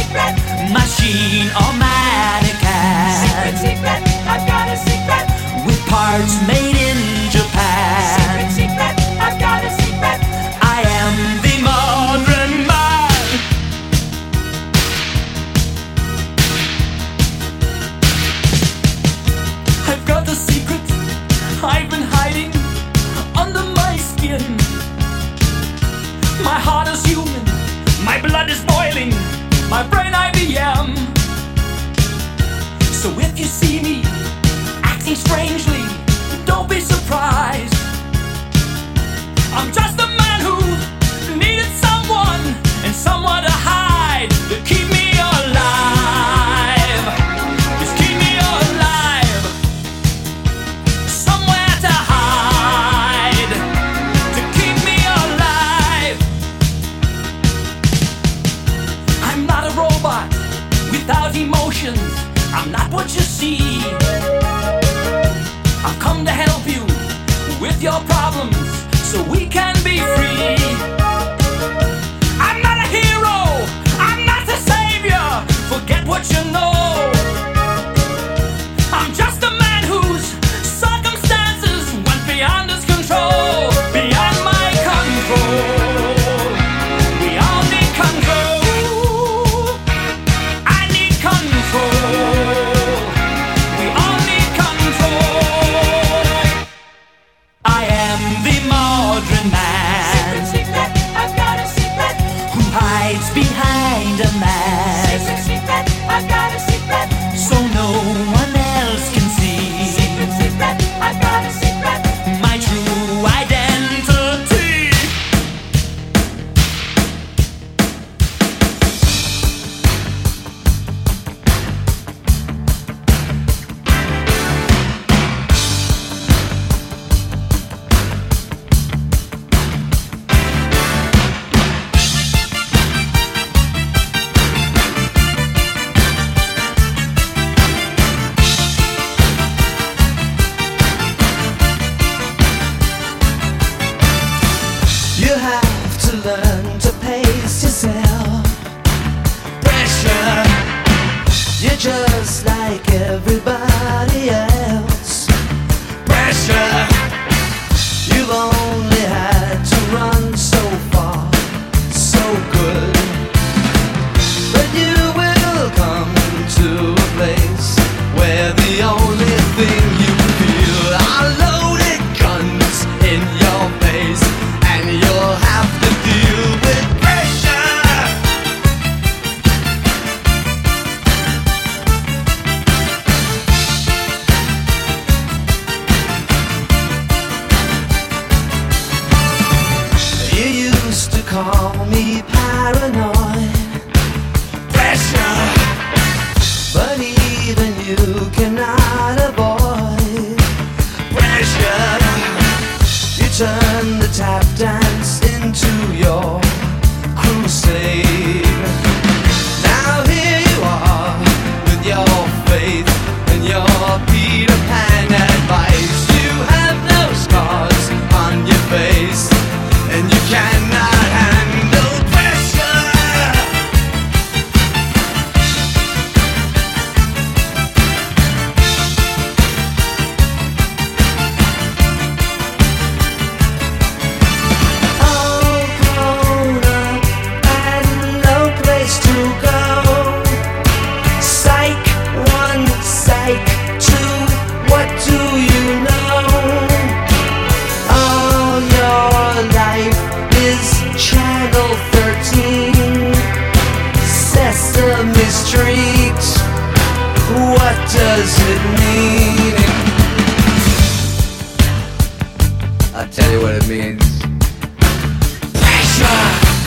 machine or mannequin. Secret, I've got a secret. With parts made in Japan. Secret, I've got a secret. I am the modern man. I've got the secret I've been hiding under my skin. My heart is human, my blood is boiling, my brain IBM. So if you see me acting strangely, don't be surprised. I'm just a man who needed someone and someone to hide, to keep me alive. Just keep me alive. Somewhere to hide, to keep me alive. I'm not a robot without emotions. I'm not what you see. I've come to help you with your problems so we can be free. I'm not a hero, I'm not a savior. Forget what you know. I'm just a man whose circumstances went beyond his control, beyond my control. We all need control. I need control. We all need control. I am the modern man. Secret, I've got a secret. Who hides behind a mask Secret, I've got a secret. so no one else can see Secret, I've got a secret. my true identity. You have to learn to pace yourself. Pressure, you're just like everybody else. Pressure, you've only had to run so far, so good. But you will come to a place where the only thing you feel are loaded guns in your face, and you'll have to deal with pressure. You used to call me paranoid. Pressure, but even you cannot avoid pressure. You turn the tap dance into your crusade. Now here you are with your faith and your Peter Pan advice. You have no scars on your face, and you cannot handle pressure. All grown up and no place to go. Psych 1, psych 2, what do you know? All your life is Channel 13, Sesame Street. What does it mean? I'll tell you what it means. Pressure.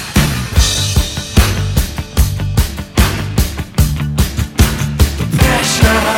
Pressure.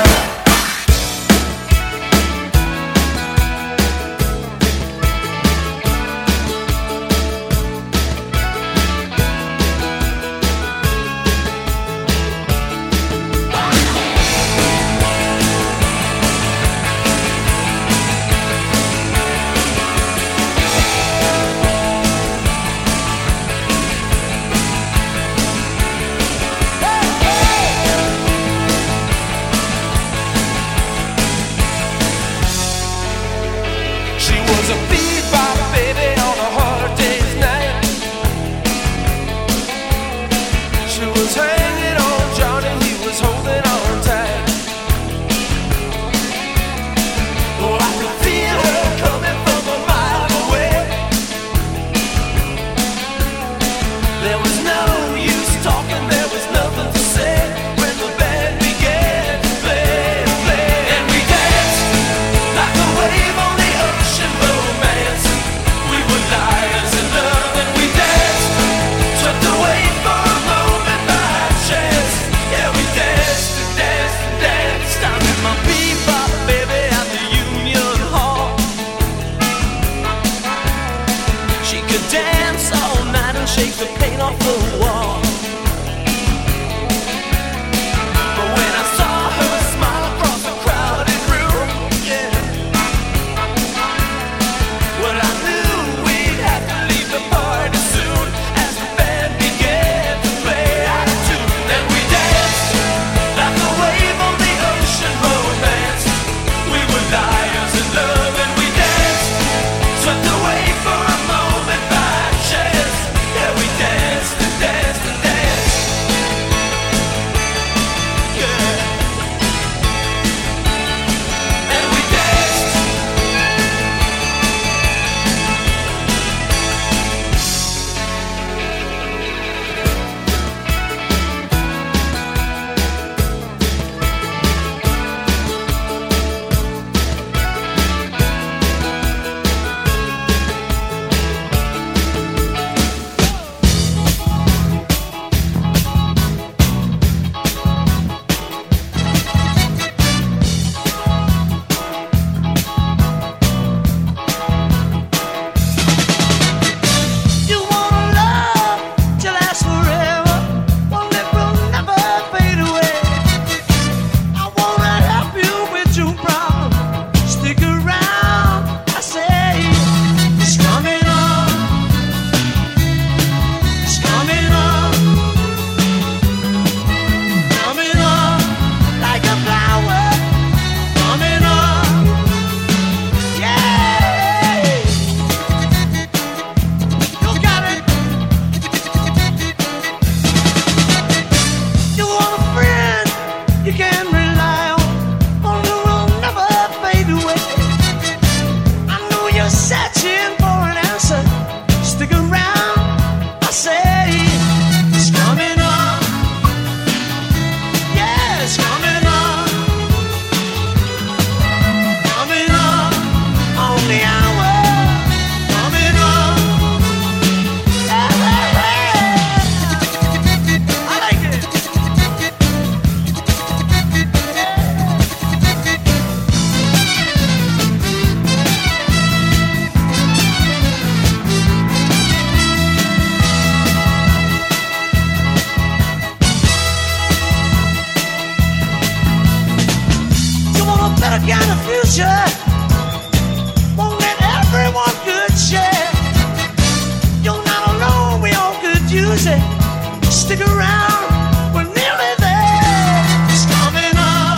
future. Won't let everyone could share. You're not alone, we all could use it. Stick around, we're nearly there. It's coming up,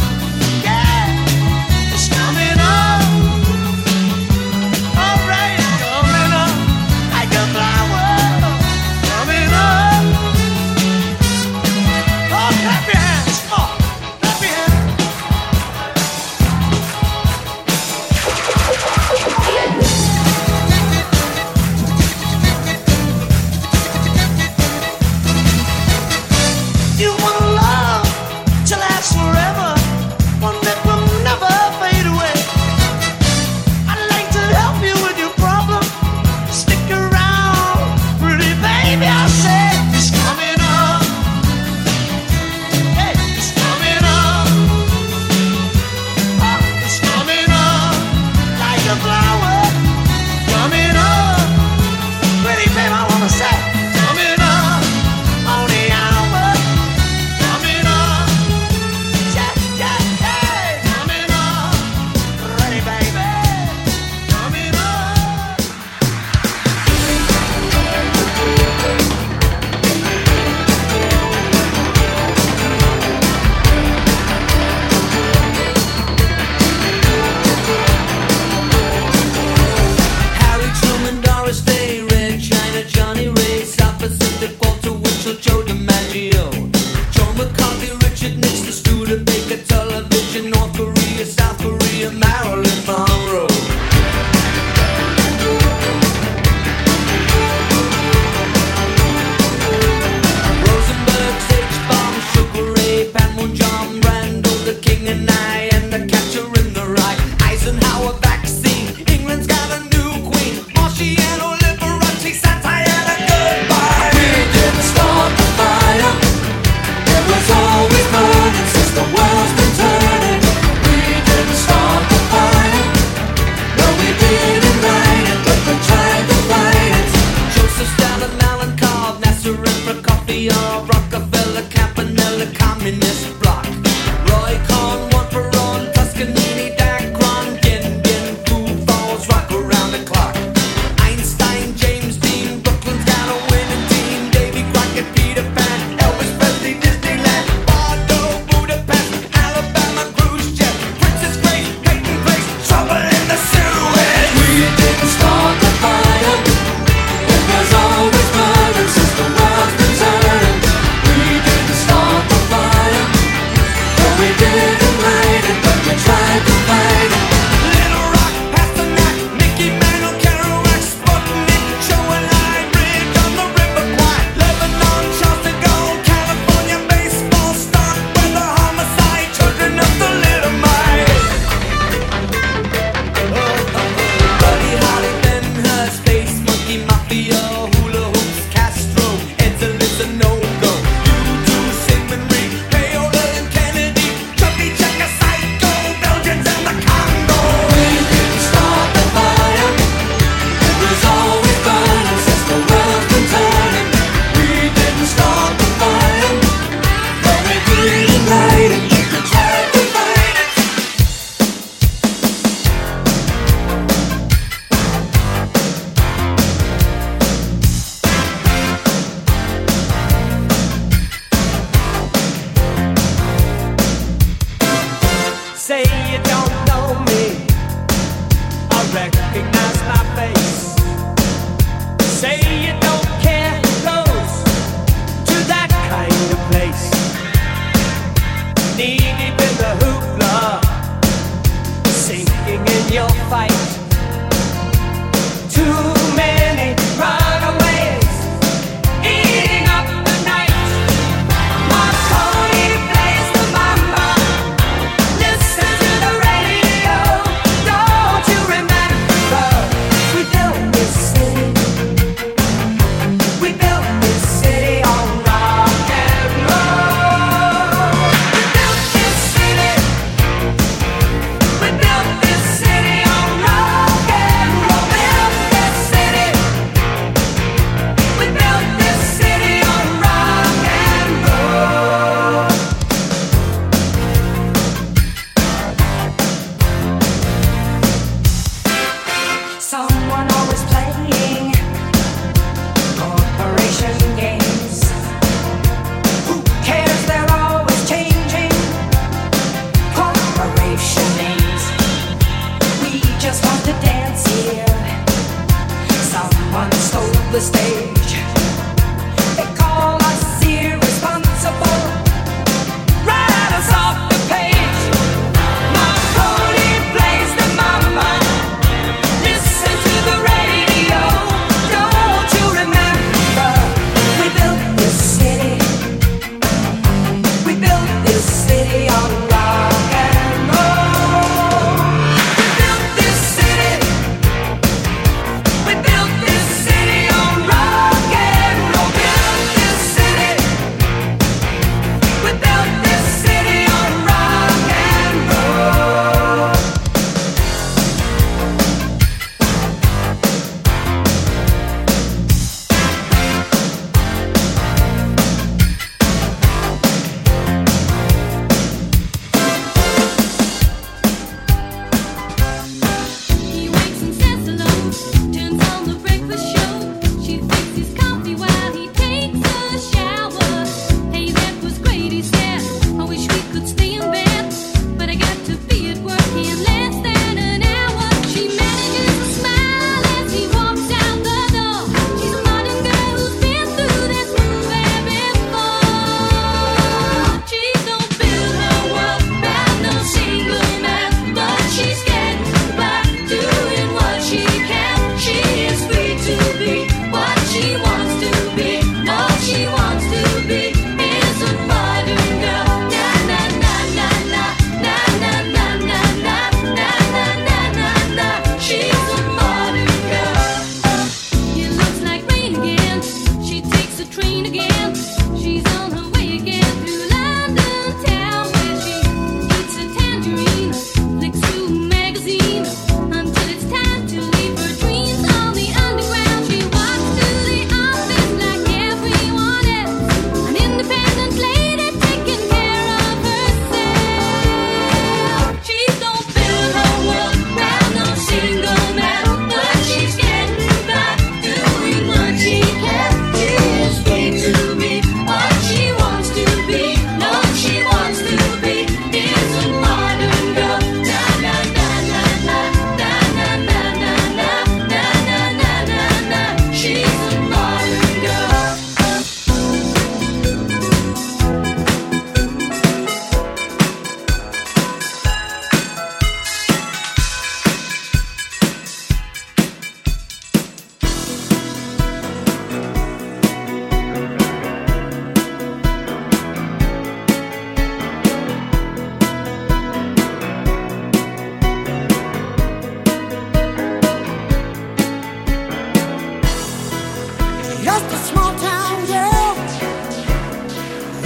yeah, it's coming up. Alright, it's coming up like a flower. Coming up. Oh, clap your hands, oh, clap your hands. You want a love to last forever, one that will never fade away. I'd like to help you with your problem. Stick around, pretty baby, I said it's coming up. Hey, it's coming up. Oh, it's coming up like a flower. Coming up, pretty baby, I wanna say coming up on the hour.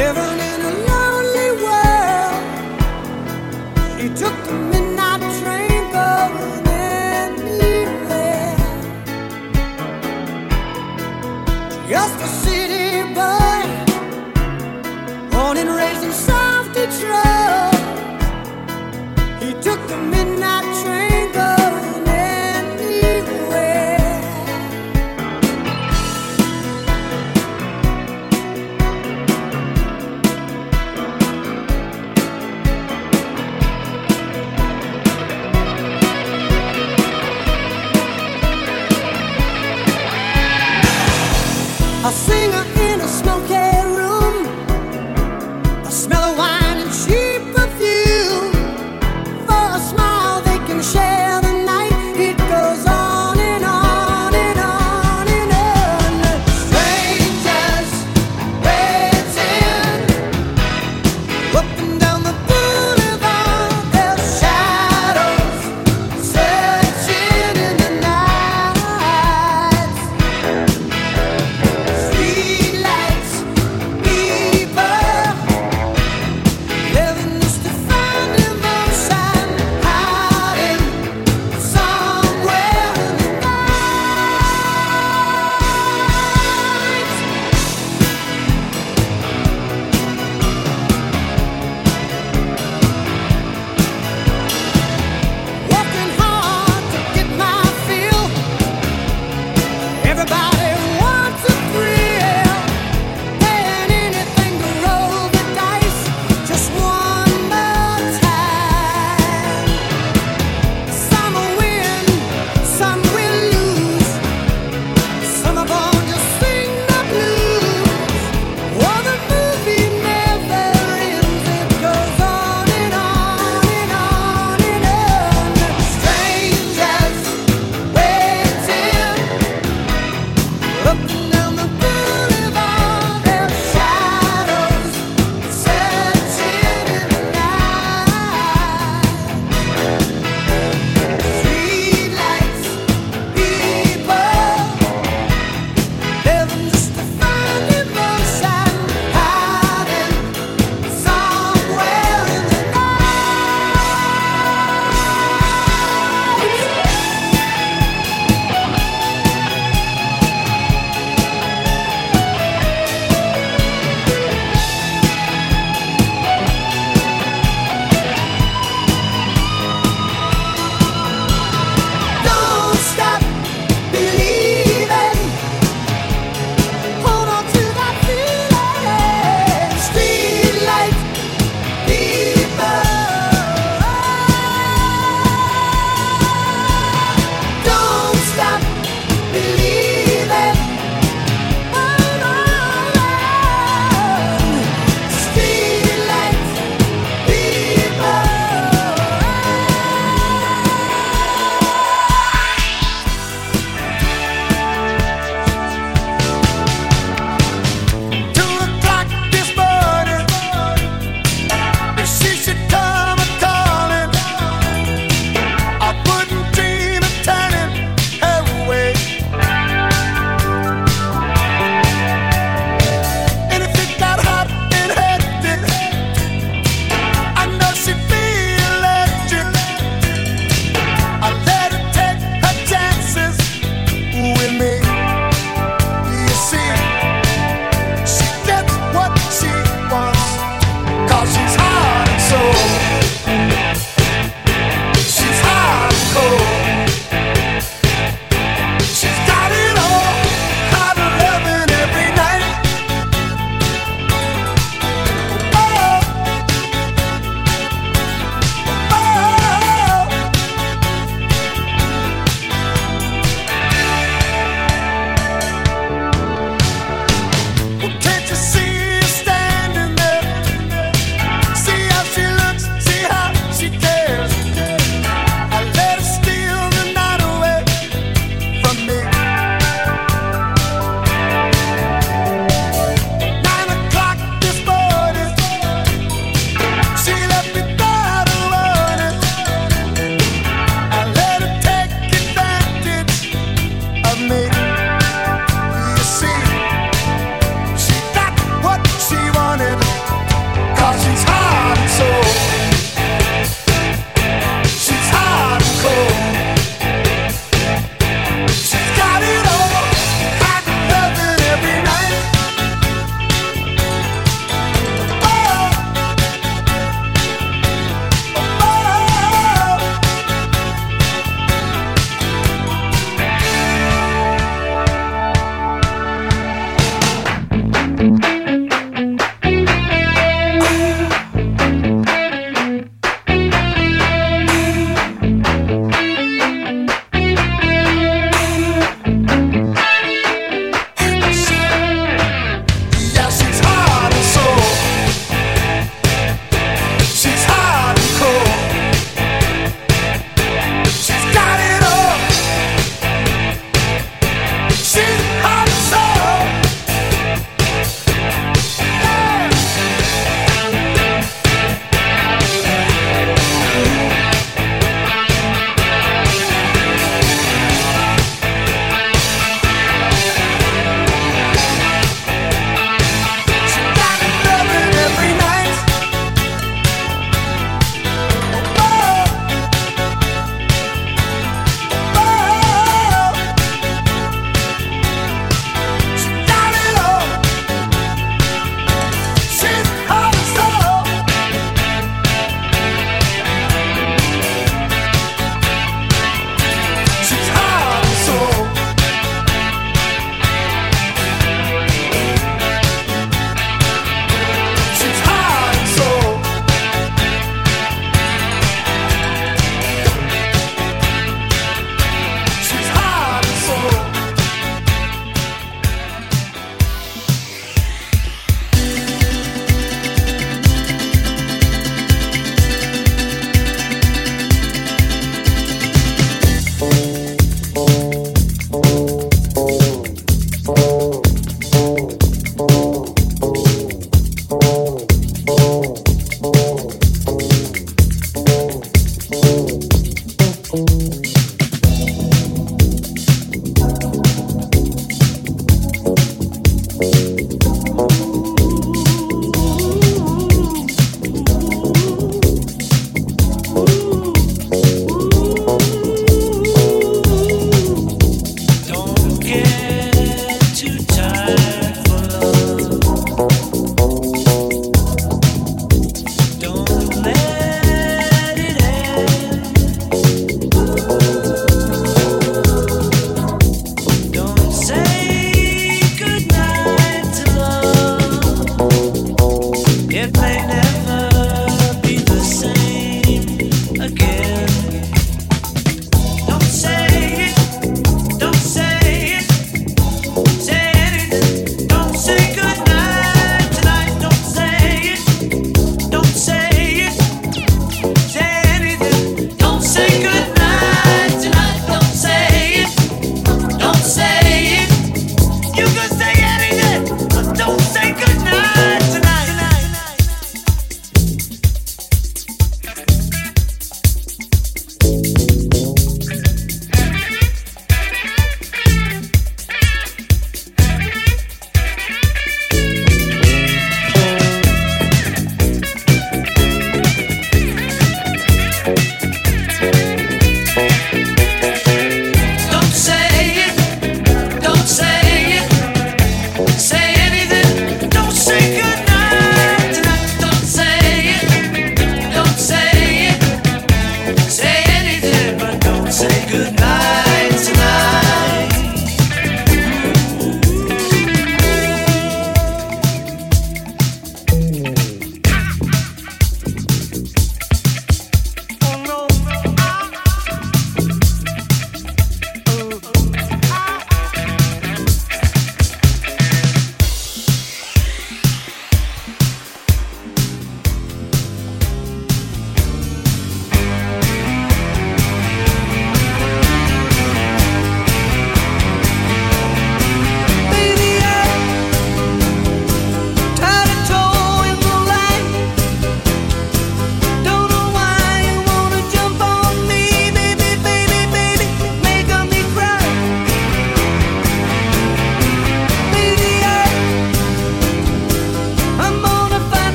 Living in a lonely world, she took the midnight train going anywhere. Just a city boy, born and raised in South Detroit. He took the midnight train going anywhere. A singer in a smoky room, a smell of wine and cheap perfume. For a smile they can share the night. It goes on and on and on and on. Strangers waiting up and down the boulevard. Their shadows searching in the night. Streetlights, people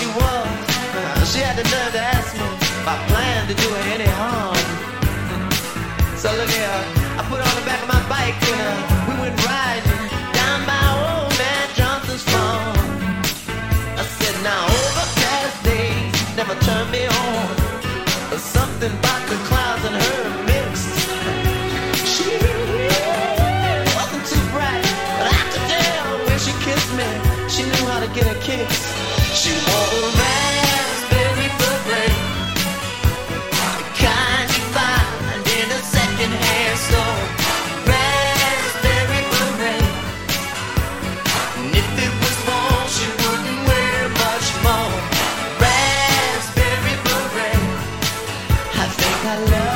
she was. She had the nerve to ask me if I planned to do her any harm. So look here, I put her on the back of my bike and we went riding down by old man Johnson's farm. I said, now overcast days never turn me on. There's something about the clouds and her mix. She wasn't too bright, but I could tell when she kissed me, she knew how to get her kicks. She wore raspberry beret, the kind you find in a second-hand store. Raspberry beret, and if it was warm, she wouldn't wear much more. Raspberry beret, I think I love her.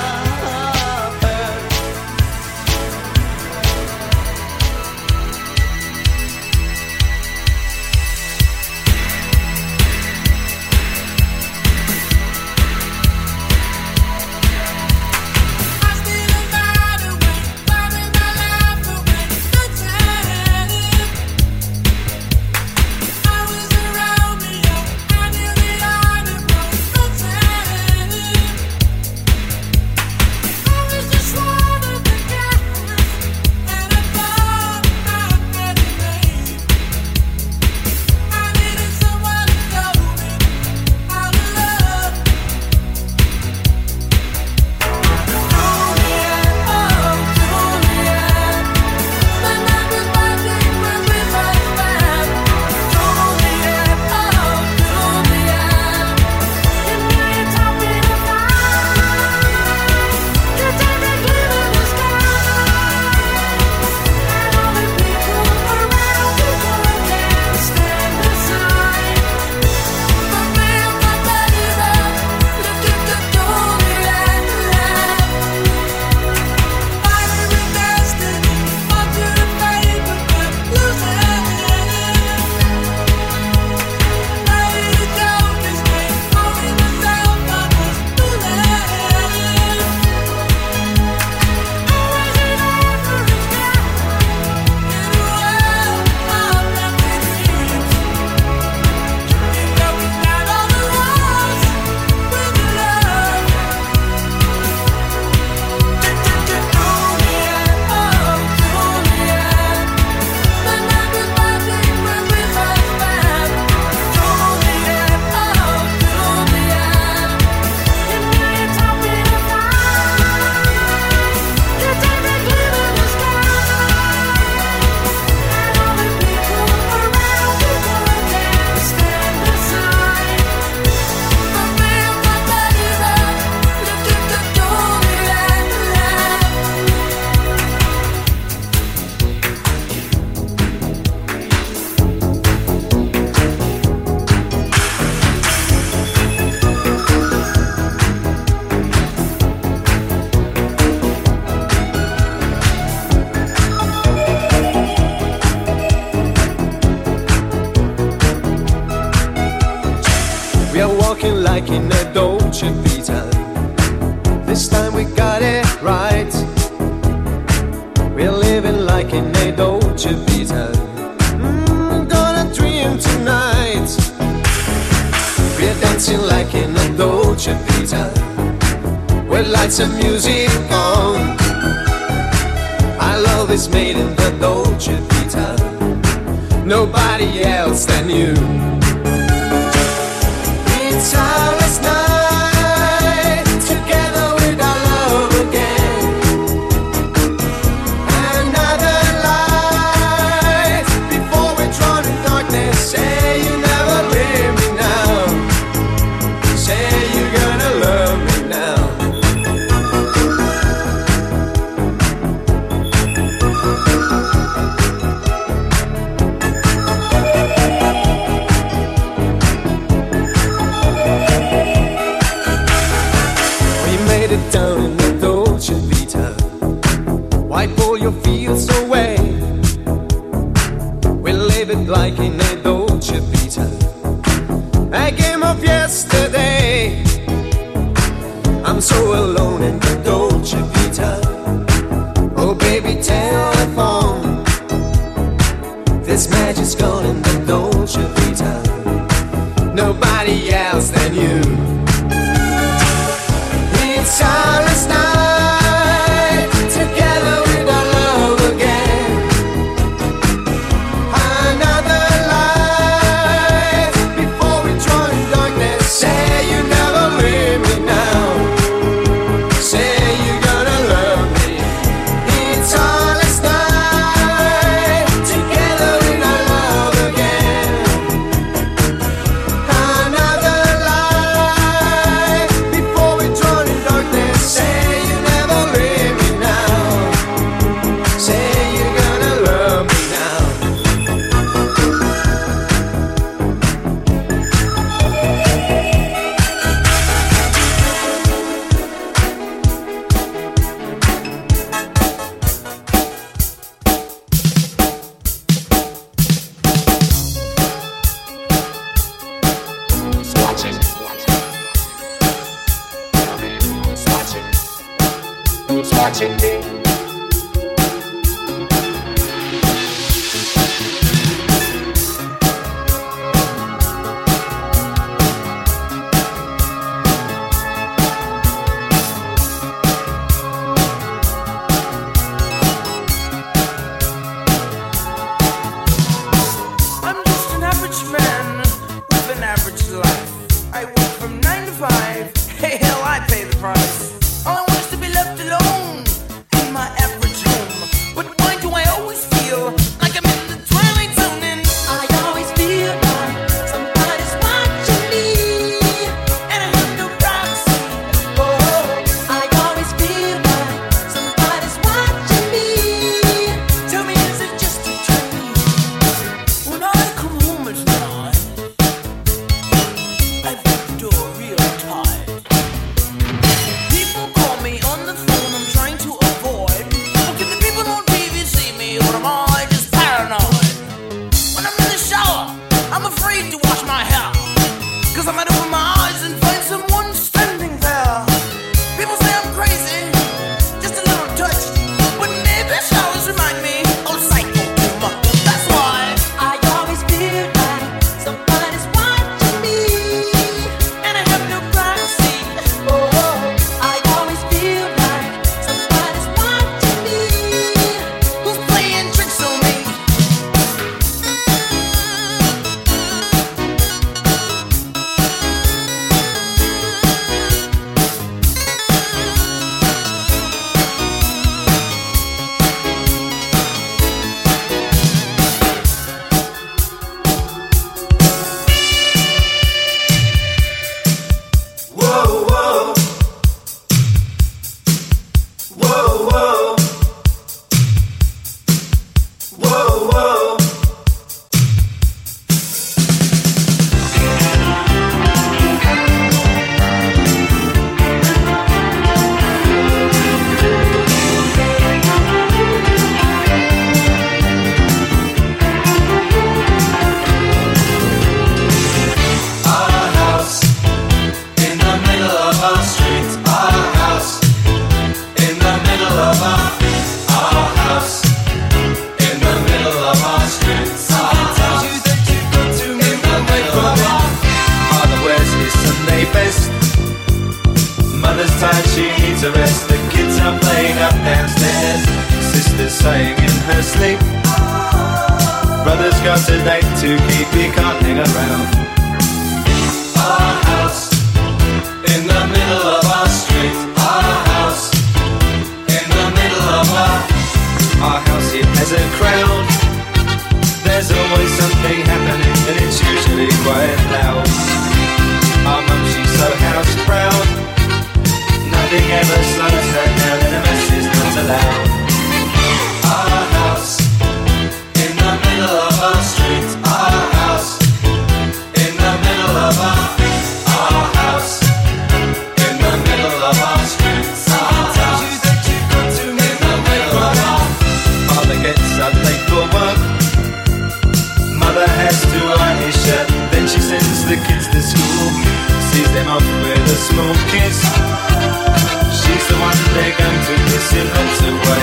Like in a Dolce Vita, this time we got it right. We're living like in a Dolce Vita. Gonna dream tonight. We're dancing like in a Dolce Vita, with lights and music on. Our love is made in the Dolce Vita, nobody else than you. It's our last night together with our love again. Another light before we're drawn in darkness. Say you never leave me now. Say you're gonna love me now. nobody else than you. It's our night together with our love again. Another life before we join darkness. Say you never leave me now. Say you're gonna love me. It's our night together with our love again. Another life before we join in darkness. Say you never leave me now. Say you're gonna love me now. Watching me. I'm just an average man with an average life. I work from 9 to 5. Hey, hell, I pay the price. All I want is to be left alone in my average home. But why do I always feel like I'm in the twilight zone? And I always feel like somebody's watching me, I have no privacy. oh, I always feel like somebody's watching me. Tell me, is it just a dream? When I come home at night, I put the door real tight. People call me on the phone, I'm trying to avoid. Well, can the people on TV see me, or am I just paranoid? When I'm in the shower, I'm afraid to wash my hair, 'cause I might open my eyes and find someone standing there. People say I'm crazy, just a little touch, but maybe showers remind me of psycho too much. That's why I always feel like somebody's watching me, and I have no privacy. oh, I always feel like somebody's watching me. Who's playing tricks on me? Whoa, whoa. Whoa, whoa. Whoa, whoa. Our house in the middle of our street. Our house in the middle of our house in the middle of our street. Our house in the middle of our. Father wears his Sunday best. Mother's tired, she needs a rest. The kids are playing up downstairs. Sister's saying in her sleep. Brother's got a date to keep, he can't hang around. Our house in the middle of our street. Our house in the middle of our house. It has a crowd. There's always something happening, and it's usually quite loud. Our mum, she's so house proud. Nothing ever slows her down, and a mess is not allowed. Our house in the middle of our street. Our house in the middle of our house in the middle of our street. Our house in the middle of our. Father gets up late for work. Mother has to iron his shirt. Then she sends the kids to school, sees them off with a small kiss. She's the one they're going to kiss in lots of ways.